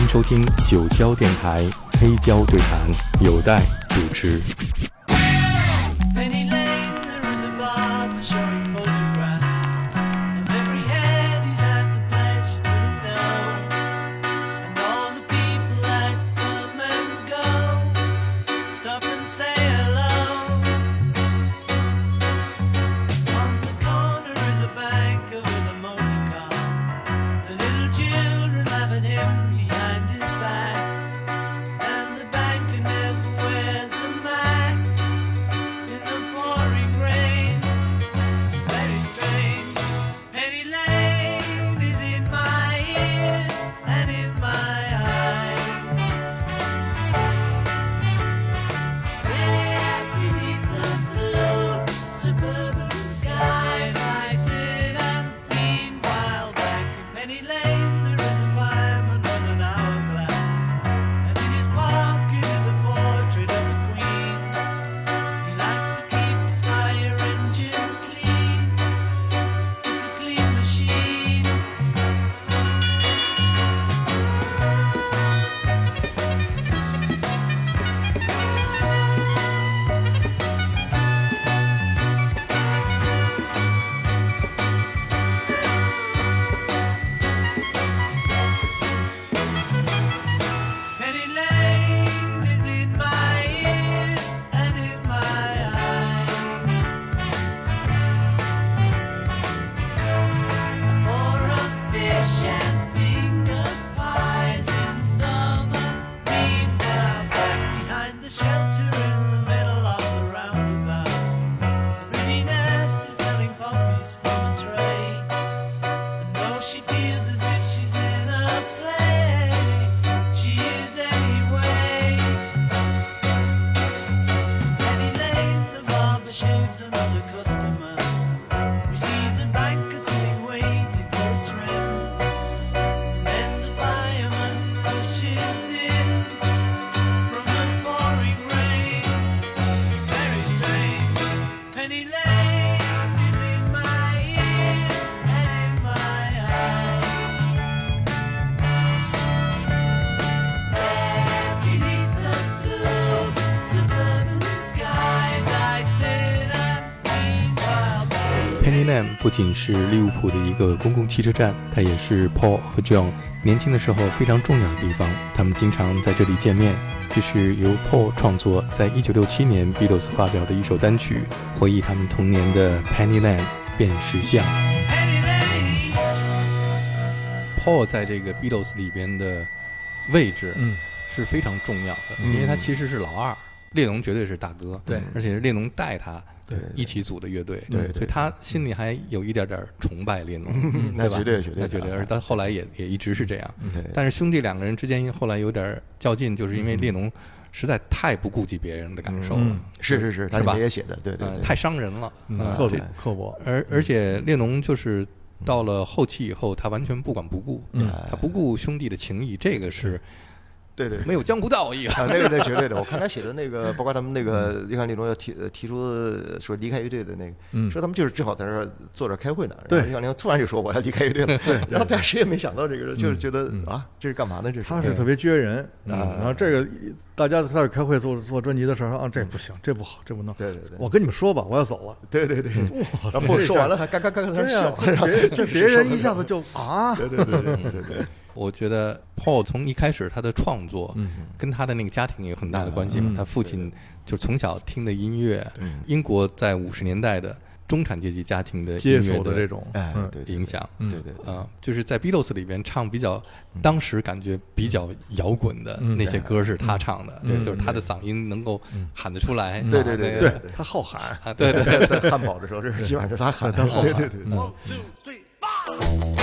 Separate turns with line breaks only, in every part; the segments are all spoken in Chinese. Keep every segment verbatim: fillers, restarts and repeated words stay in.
收听九霄电台黑胶对谈，有待主持。Penny Lane 不仅是利物浦的一个公共汽车站，它也是 Paul 和 John 年轻的时候非常重要的地方，他们经常在这里见面。这是由 Paul 创作，在一九六七年 Beatles 发表的一首单曲，回忆他们童年的 Penny Lane 辨识巷。Paul 在这个 Beatles 里边的位置是非常重要的，嗯、因为他其实是老二，列侬绝对是大哥，
对，
而且是列侬带他一起组的乐队，
对，对，
所以他心里还有一点点崇拜列侬，
嗯、
对吧？
绝对绝对，
他觉得，而他后来也也一直是这样。
对，
但是兄弟两个人之间后来有点较劲，就是因为列侬实在太不顾及别人的感受了，
嗯、是是是，他
是吧？
也写的，对 对, 对、
呃，太伤人了，
嗯
呃、
刻薄刻薄。
而而且列侬就是到了后期以后，他完全不管不顾，
嗯、
他不顾兄弟的情谊，这个是。
对对，
没有江湖道义
啊，那个那绝对的。我看他写的那个，包括他们那个约翰列侬要提提出说离开乐队的那个，嗯、说他们就是正好在这儿坐着开会呢。
对，
约翰列侬突然就说我要离开乐队了。对，然后但谁也没想到这个，就是觉得、
嗯、
啊，这是干嘛呢？这是
他是特别撅人啊。然后这个大家在这开会做做专辑的时候啊，这不行，这不好，这不能。
对对对，
我跟你们说吧，我要走了。
对对对，
哇，
然后说完了还嘎嘎嘎嘎笑，
别这别人一下子就啊，
对对对对对对。
我觉得 Paul 从一开始他的创作跟他的那个家庭有很大的关系嘛，他父亲就从小听的音乐，英国在五十年代的中产阶级家庭的音乐
的这种
影响，
对对
啊，就是在 Beatles 里边唱比较当时感觉比较摇滚的那些歌是他唱的，对，就是他的嗓音能够喊得出来，
对对对
对，他好喊
啊，对对对，
在汉堡的时候，这基本上是他喊的，对对对。
One two three four。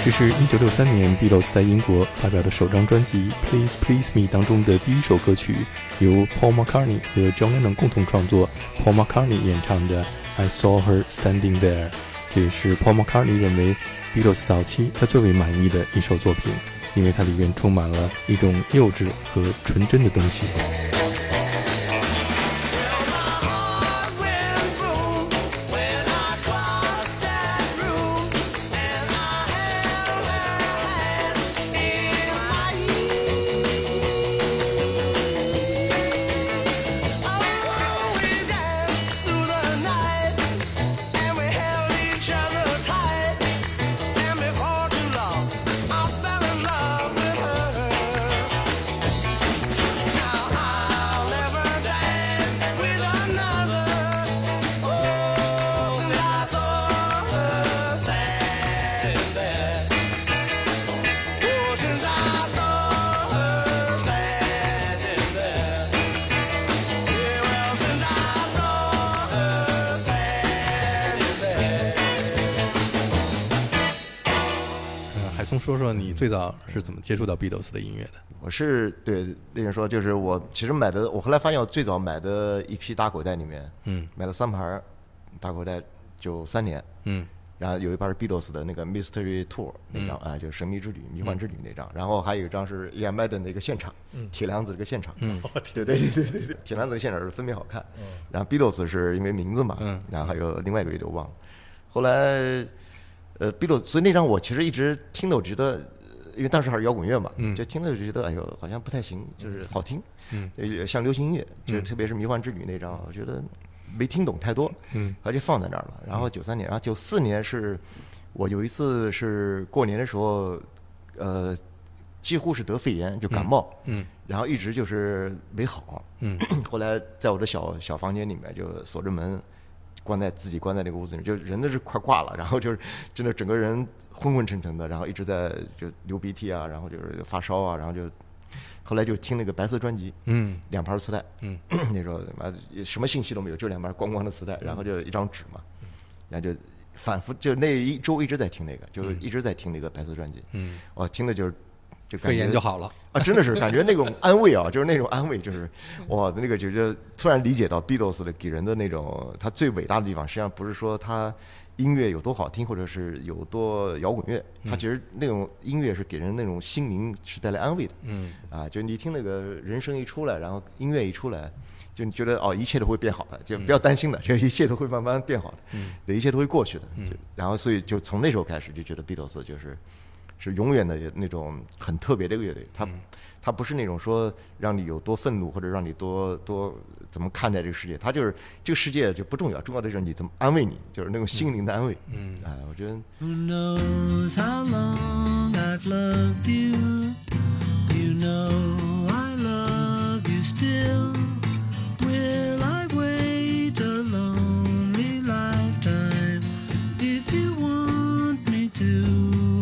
这是一九六三年 Beatles 在英国发表的首张专辑 Please Please Me 当中的第一首歌曲，由 Paul McCartney 和 John Lennon 共同创作， Paul McCartney 演唱的 I Saw Her Standing There。 这也是 Paul McCartney 认为 Beatles 早期他最为满意的一首作品，因为它里面充满了一种幼稚和纯真的东西。松说说你最早是怎么接触到 Beatles 的音乐的？
我是对那人说，就是我其实买的，我后来发现我最早买的一批打口袋里面，嗯，买了三盘打口袋，九三年，嗯，然后有一盘是 Beatles 的那个 Mystery Tour 那张、嗯、啊，就是神秘之旅、迷幻之旅那张，嗯、然后还有一张是 Ian Madden 的一个现场，嗯，铁娘子这个现场，嗯，对对对对对对，铁娘子的现场是分别好看，嗯，然后 Beatles 是因为名字嘛，嗯，然后还有另外一个乐队我忘了，后来。呃 ，Beatles， 所以那张我其实一直听的，我觉得，因为当时还是摇滚乐嘛，嗯，就听的就觉得，哎呦，好像不太行，就是好听，嗯，像流行音乐，就特别是《迷幻之旅》那张，我觉得没听懂太多，嗯，他就放在那儿了。然后九三年，然后九四年是，我有一次是过年的时候，呃，几乎是得肺炎，就感冒，嗯，然后一直就是没好，嗯，后来在我的小小房间里面就锁着门。关在自己关在那个屋子里，就人都是快挂了，然后就是真的整个人昏昏沉沉的，然后一直在就流鼻涕啊，然后就是发烧啊，然后就后来就听那个白色专辑，嗯，两盘磁带，嗯，那时候什么信息都没有，就两盘光光的磁带，然后就一张纸嘛，然后就反复就那一周一直在听那个，就一直在听那个白色专辑，嗯，我听的就是就感觉
肺炎就好了
啊，真的是感觉那种安慰啊，就是那种安慰，就是哇，那个就觉得突然理解到 Beatles 的给人的那种，他最伟大的地方，实际上不是说他音乐有多好听，或者是有多摇滚乐，他其实那种音乐是给人那种心灵是带来安慰的，嗯，啊，就你听那个人声一出来，然后音乐一出来，就你觉得哦，一切都会变好的，就不要担心的，就一切都会慢慢变好的，嗯，对，一切都会过去的，嗯，然后所以就从那时候开始就觉得 Beatles 就是。是永远的那种很特别的一个乐队，它、嗯、它不是那种说让你有多愤怒或者让你多多怎么看待这个世界，它就是这个世界就不重要，重要的是你怎么安慰你，就是那种心灵的安慰。嗯，哎、嗯，我觉得。Who knows how long I've loved you? You know I love you still. Will I wait a lonely lifetime if you want me to?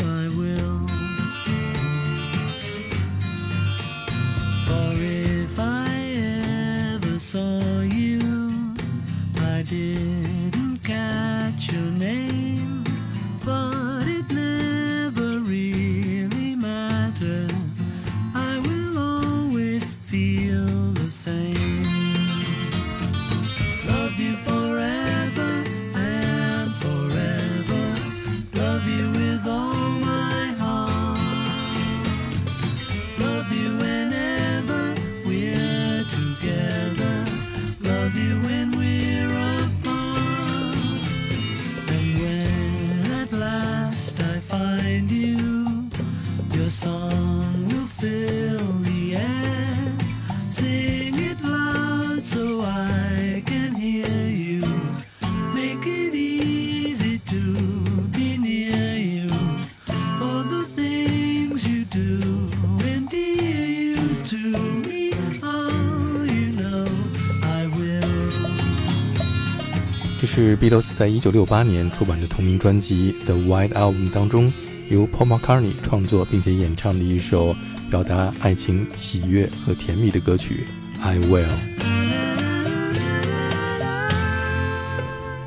这是 Beatles 在一九六八年出版的同名专辑 The White Album 当中由 Paul McCartney 创作并且演唱的一首表达爱情、喜悦和甜蜜的歌曲 I Will。 你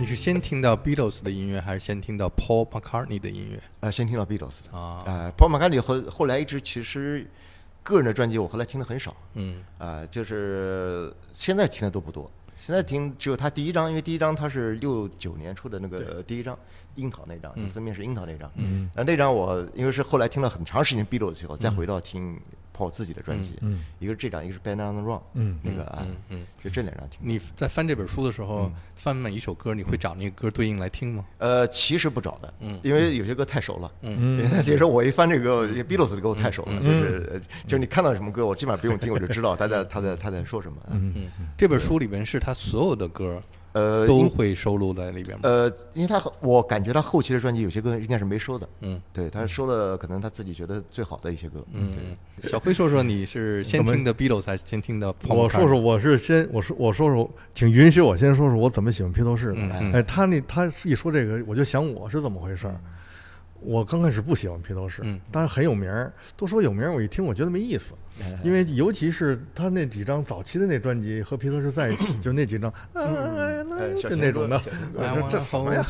是先听到 Beatles 的音乐，还是先听到 Paul McCartney 的音乐？
呃，先听到 Beatles 的
啊，
呃 Paul McCartney 后后来一直其实个人的专辑我后来听的很少，
嗯，
啊、呃，就是现在听的都不多。现在听只有他第一张，因为第一张他是六九年出的那个第一张樱桃那张，嗯、封面是樱桃那张。嗯，那那张我因为是后来听了很长时间 Beatles 以后，再回到听 Paul 自己的专辑，嗯，一个是这张，一个是 Band on the Run， 嗯，那个啊，嗯，就这两张听。
你在翻这本书的时候，翻每一首歌，你会找那个歌对应来听吗？
呃，其实不找的，嗯，因为有些歌太熟了，嗯，其实我一翻这个 Beatles 的歌我太熟了，就是就是你看到什么歌，我基本上不用听，我就知道他在他在他在说什么。
嗯嗯，这本书里面是他所有的歌。呃，都会收录在里边吗？
呃，因为他我感觉他后期的专辑有些歌应该是没收的，嗯，对他收了可能他自己觉得最好的一些歌，嗯，
对。小辉说说你是先听的 Beatles 还是先听的 Paul McCartney？
我说说我是先我说我说说，请允许我先说说我怎么喜欢披头士的。嗯、哎，他那他一说这个，我就想我是怎么回事。我刚开始不喜欢披头士，嗯，当然很有名儿，都说有名儿，我一听我觉得没意思，因为尤其是他那几张早期的那专辑和披头士在一起，就那几张，就那种的，这这什么呀？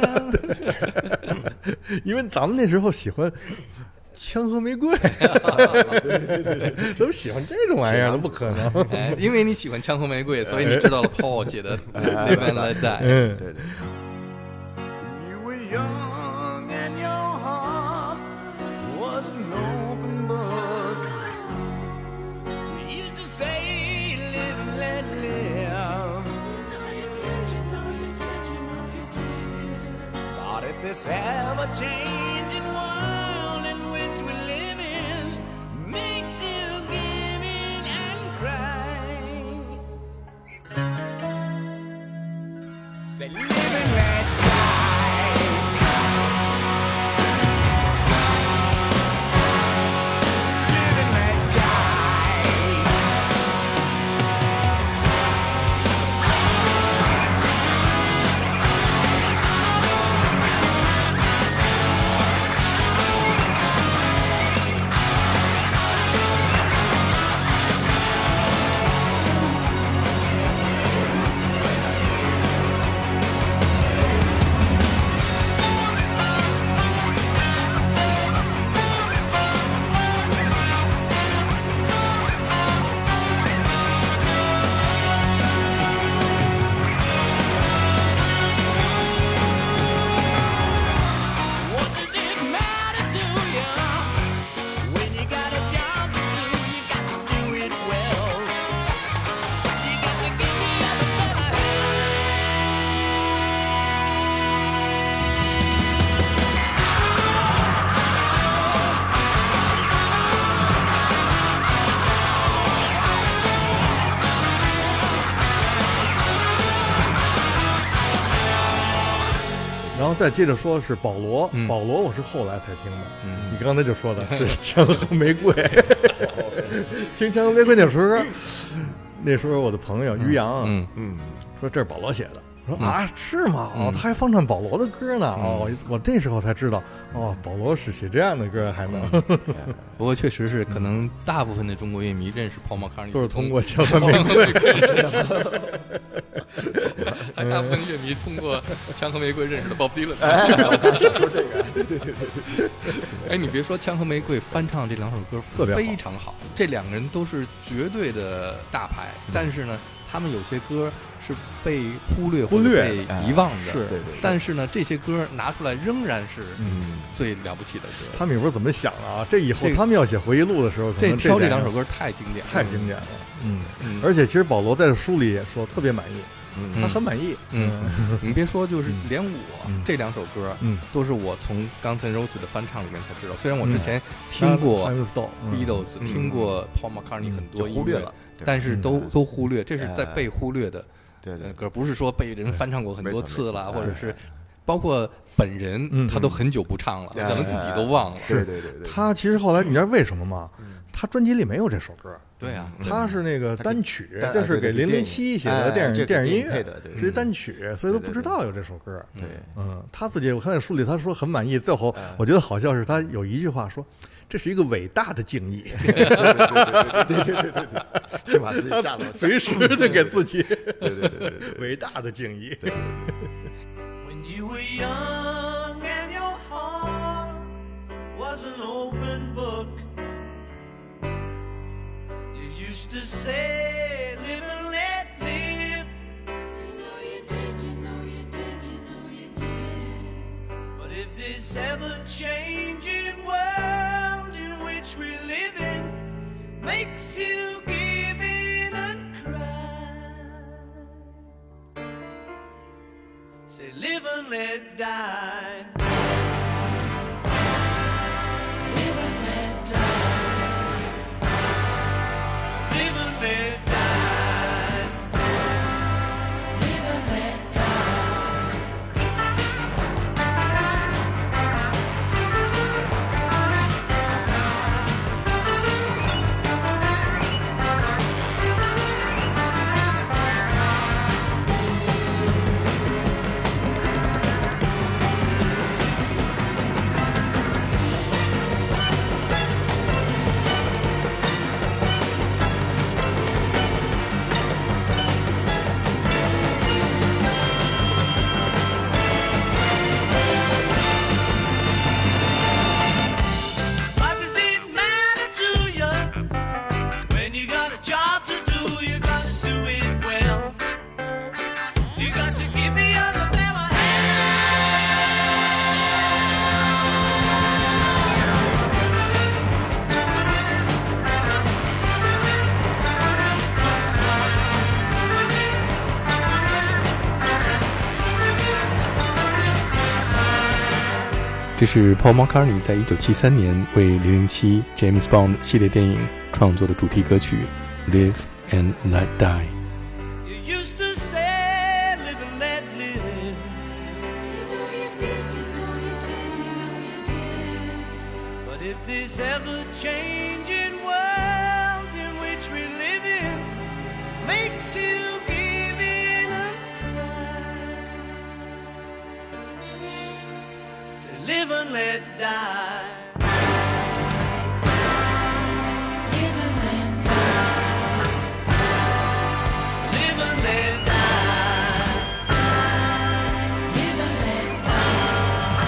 因为咱们那时候喜欢枪和玫瑰，怎么喜欢这种玩意儿？不可能，
哎，因为你喜欢枪和玫瑰，所以你知道了 Paul 写的《Live and Let Die》。
嗯，
对对。
This ever-changing world in which we live in makes you give in and cry. Say, live and let die. Live and let die.
然后再接着说是保罗，嗯、保罗我是后来才听的。嗯、你刚才就说的是枪和玫瑰，听枪和玫瑰那时候，那时候我的朋友于洋，嗯嗯，说这是保罗写的。我说啊，是吗？哦，他还放唱保罗的歌呢。哦，我这时候才知道，哦，保罗是写这样的歌还能。
不过确实是，可能大部分的中国乐迷认识 Paul McCartney
都是通过枪和玫瑰。
还大部分乐迷通过枪和玫瑰认识了 Bob Dylan。
哎，我刚想说这个，对对对对对。
哎，你别说，枪和玫瑰翻唱这两首歌
特别
非常好，这两个人都是绝对的大牌，但是呢。他们有些歌是被忽略、
忽略、
被遗忘的，
是，
对对。
但是呢，这些歌拿出来仍然是最了不起的歌。
他们也不知道怎么想的啊！这以后他们要写回忆录的时候，
这挑这两首歌太经典，
太经典了。嗯，而且其实保罗在书里也说特别满意。嗯，他很满意。
嗯，你别说，就是连我这两首歌，嗯，都是我从 Guns N' Roses 的翻唱里面才知道。虽然我之前听过 Beatles， 听过 Paul McCartney 很多音乐，但是都都忽略，这是在被忽略的歌，不是说被人翻唱过很多次了，或者是包括本人他都很久不唱了，可能自己都忘了。
对对对对，
他其实后来你知道为什么吗？他专辑里没有这首歌。
对啊，
他是那个单曲，这是给零零七写的电影电影音乐，是一单曲，所以都不知道有这首歌。
对，
嗯，他自己我看在书里他说很满意，最后我觉得好笑是他有一句话说，这是一个伟大的敬意。
对对对对对对对，先把自己炸了，
随时的给自己，
对对对对，
伟大的敬意。
When you were young and your heart was an open book, you used to say, live and let live. You know you did, you know you did, you know you did. But if this ever-changing world in which we live in makes you give in and cry, say live and let die. Live and let die. Live and let die. Live and let die. What does it matter to you when you got a job to do? You got to do it well. You got to give the other fella hand.
这是 Paul McCartney 在一九七三年为零零七 James Bond 系列电影创作的主题歌曲 Live and Let Die。
You used to say, live and let live. You know you did, you know you did, you know you did. But if this ever-changing world in which we live in makes you give in and cry, say live and let die. Live and let die. Live and let die. Live and let die.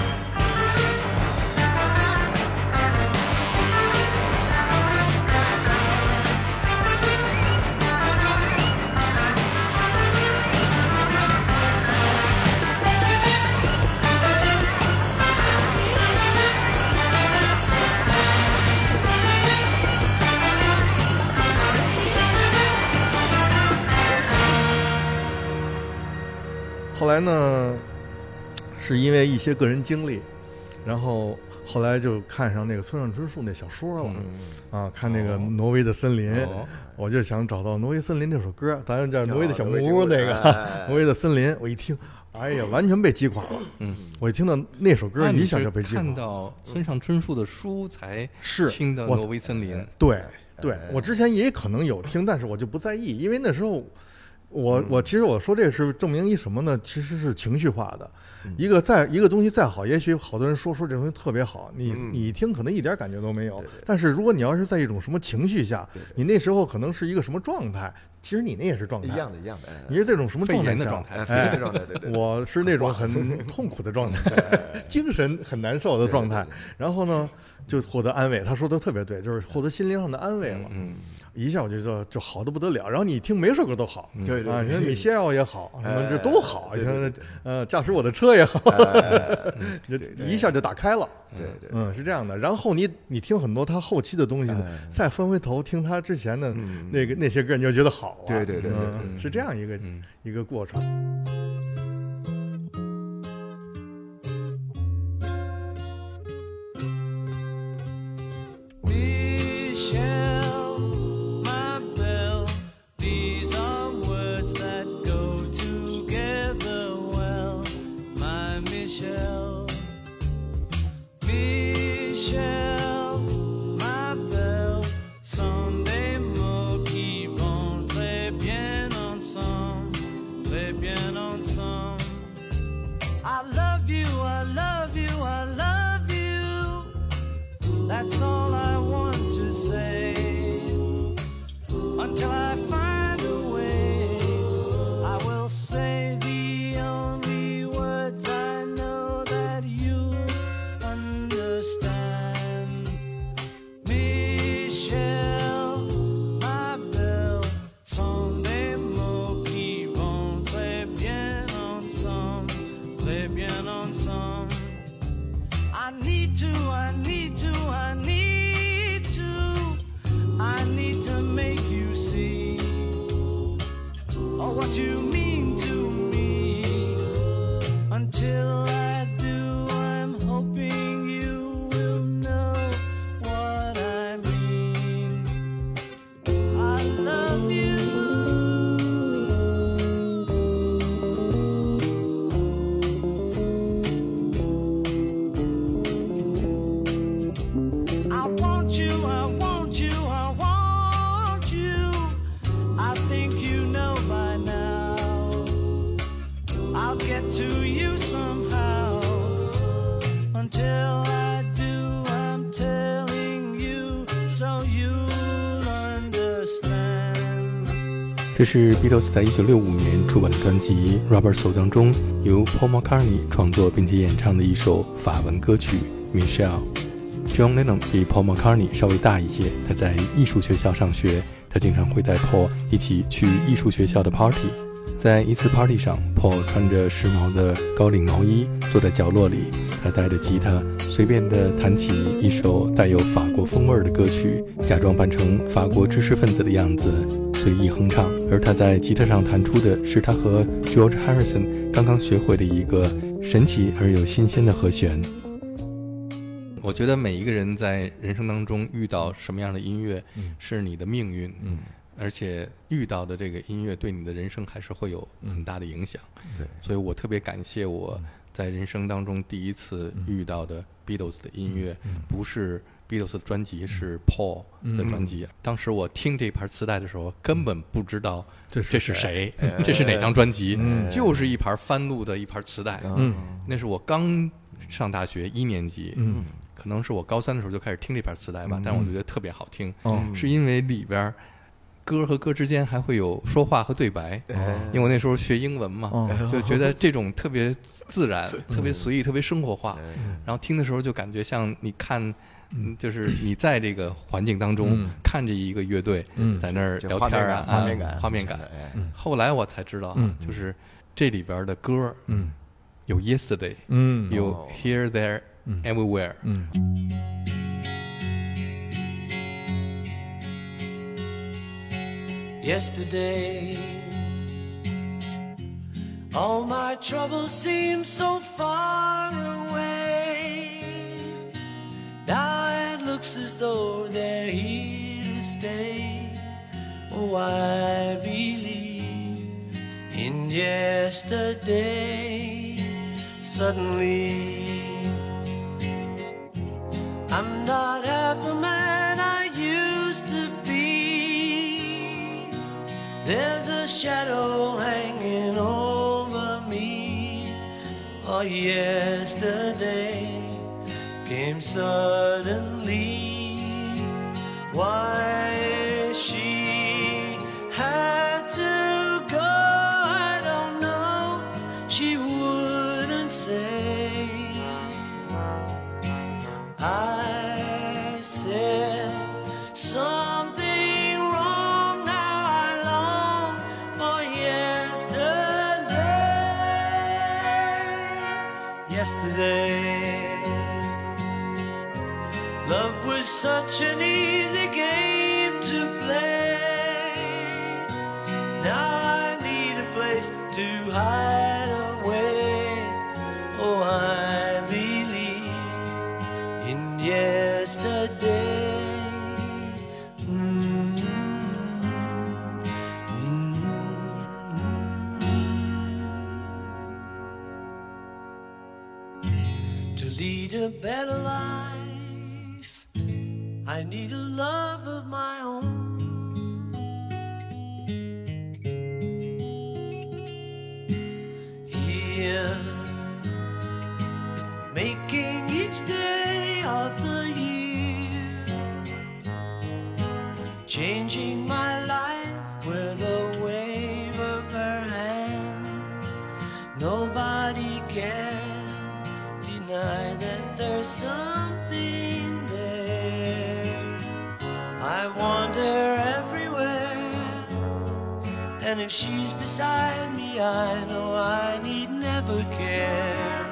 后来呢，是因为一些个人经历，然后后来就看上那个村上春树那小说了，
嗯、
啊，看那个《挪威的森林》
哦，
我就想找到《挪威森林》这首歌，当然叫《挪威的小木
哦
屋》那个
哎
《挪威的森林》，我一听，哎呀，完全被击垮了。
嗯，
我一听到那首歌，一下就被击垮了。
看到村上春树的书才
是
听到
我
挪威森林。
对对，我之前也可能有听，但是我就不在意，因为那时候。我我其实我说这是证明一什么呢？其实是情绪化的，一个再一个东西再好，也许好多人说说这东西特别好，你你一听可能一点感觉都没有。但是如果你要是在一种什么情绪下，你那时候可能是一个什么状态，其实你那也是状态
一样的，一样的。
你是这种什么状态
的状态？
肺炎的状态，对对。
我是那种很痛苦的状态，精神很难受的状态。然后呢，就获得安慰。他说的特别对，就是获得心灵上的安慰了。嗯。一下我就就就好的不得了，然后你听每首歌都好，
对对
啊，你看米歇尔也好，什么这都好，你看呃驾驶我的车也好，就一下就打开了，
对对，
嗯是这样的。然后你你听很多他后期的东西呢，再翻回头听他之前的那个那些歌，你就觉得好啊，
对对对，
是这样一个一个过程。
That's all I want to say. Until I find a way, I will say the only words I très bien ensemble. I need to, I need to, I need to, I need to make you see oh, what you mean to me. Until I do, I'm hoping you will know what I mean. I love you. I want you, I want you, I want you. I think you know by now. I'll get to you somehow. Until I do, I'm telling you so you'll understand.
这是 Beatles 在一九六五年出版的专辑《Rubber Soul》当中由 Paul McCartney 创作并且演唱的一首法文歌曲 Michelle。John Lennon 比 Paul McCartney 稍微大一些，他在艺术学校上学，他经常会带 Paul 一起去艺术学校的 party。在一次 party 上 ，Paul 穿着时髦的高领毛衣，坐在角落里，他带着吉他，随便地弹起一首带有法国风味的歌曲，假装扮成法国知识分子的样子，随意哼唱。而他在吉他上弹出的是他和 George Harrison 刚刚学会的一个神奇而又新鲜的和弦。我觉得每一个人在人生当中遇到什么样的音乐，嗯、是你的命运，嗯，而且遇到的这个音乐对你的人生还是会有很大的影响。
嗯、对，
所以我特别感谢我在人生当中第一次遇到的 Beatles 的音乐，嗯、不是 Beatles 的专辑，是 Paul 的专辑。嗯、当时我听这盘磁带的时候，根本不知道这是谁，这 是, 这是哪张专辑，嗯、就是一盘翻录的一盘磁带。嗯，那是我刚上大学一年级，嗯。可能是我高三的时候就开始听这盘磁带吧，嗯、但是我觉得特别好听，嗯、是因为里边歌和歌之间还会有说话和对白，嗯、因为我那时候学英文嘛，嗯、就觉得这种特别自然、嗯、特别随意、特别生活化，嗯、然后听的时候就感觉像你看，嗯、就是你在这个环境当中、嗯、看着一个乐队、嗯、在那儿聊天啊，
画面感，
画面感。嗯、后来我才知道，嗯、就是这里边的歌，嗯、有 Yesterday，嗯、有 Here There。Everywhere. Mm.
Yesterday, all my troubles seem so far away. Now it looks as though they're here to stay. Oh, I believe in yesterday. Suddenly,I'm not half the man I used to be. There's a shadow hanging over me. Oh, yesterday came suddenly. Why she had to go, I don't know. She wouldn't say.I said something wrong. Now I long for yesterday. Yesterday, love was such an easy game to play. Now I need a place to hide away. Oh, I believe in yesterday. Mm-hmm. Mm-hmm. To lead a better life, I need a love of my own. Here, making each day of the year, changing my life with a wave of her hand. Nobody can deny that there's something there. I wander everywhere, and if she's beside me, I know I need never care.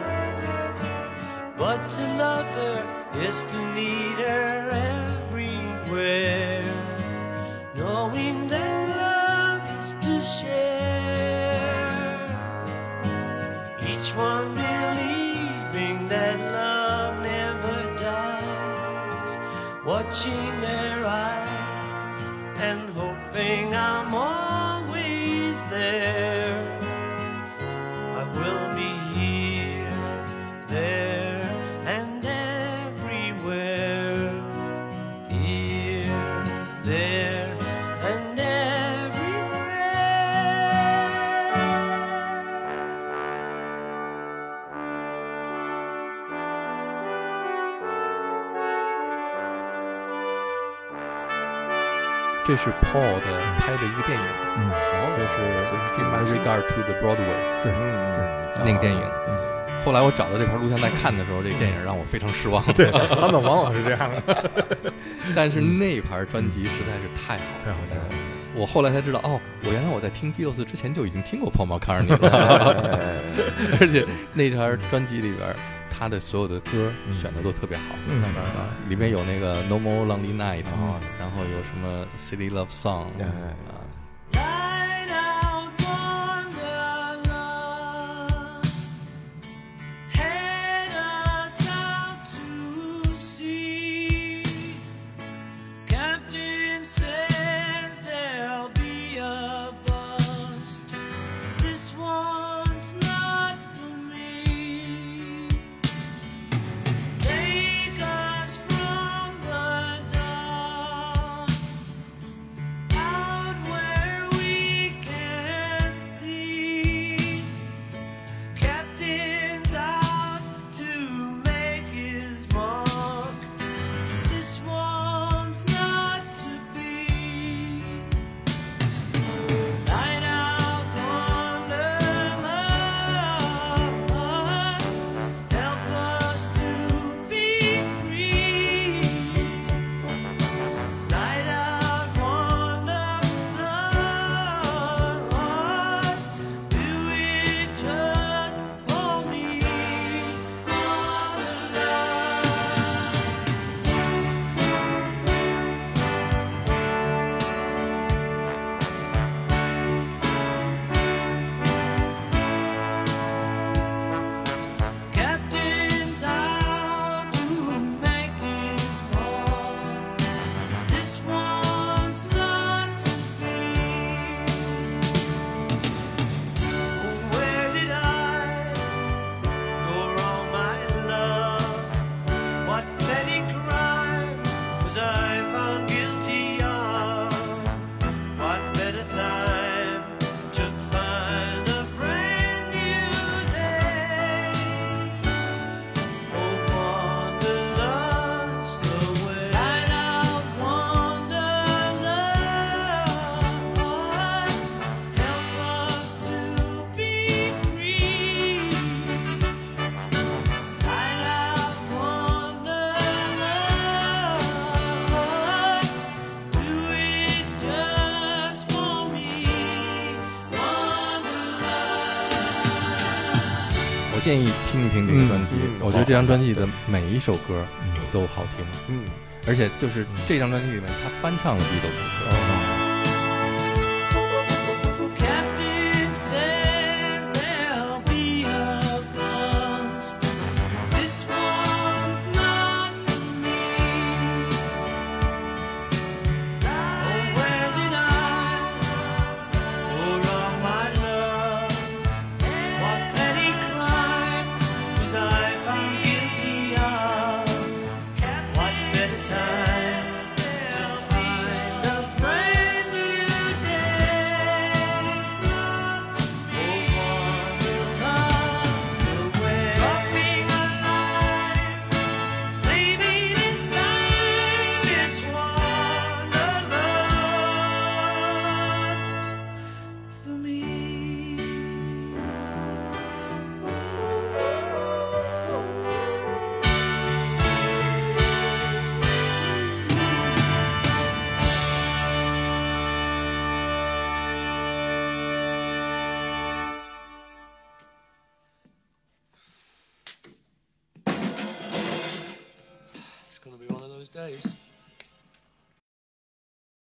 But to love her is to need her everywhere, knowing that love is to share, each one believing that love never dies, watching their eyes and hoping I'm always there. I will be here, there, and everywhere. Here, there, and everywhere.
这是 Paul 的拍的一个电影，
嗯，
就是 Give My Regard to the Broadway，
对对
那个电影。后来我找到这盘录像带看的时候，这个电影让我非常失望。
对，他们往往是这样的。
但是那盘专辑实在是太好
太好听了。
我后来才知道，哦，我原来我在听 Beatles 之前就已经听过 Paul McCartney 了，而且那盘专辑里边他的所有的歌选的都特别好，
嗯
啊，里面有那个 No More Lonely Night，然后有什么 City Love Song， 啊。
Light out wanderlust, head us out to sea. Captain says there'll be a bust. This one's not for me. Take us from the dawn out where we can see. Captain's out to make his mark. This one's not to be. Light out wanderlust, help us to be free. Light out wanderlust, do it just for me. Wanderlust. Captain's out to make his mark. This one's not to be. Oh, where did I go wrong, my love? What petty crime was I found guilty of? What better time to find a brand new day? Oh, wanderlust away. Light out wanderlust, help us to be free. Light out wanderlust, do it just for me. Wanderlust.
我建议听一听这个专辑，我觉得这张专辑的每一首歌都好听，
嗯，
而且就是这张专辑里面他翻唱了 Beatles 的歌。
Captain says there'll be a bust. This one's not for me. Oh, where did I go wrong, my love? What petty crime was I found guilty of? What better time to find a brand those days.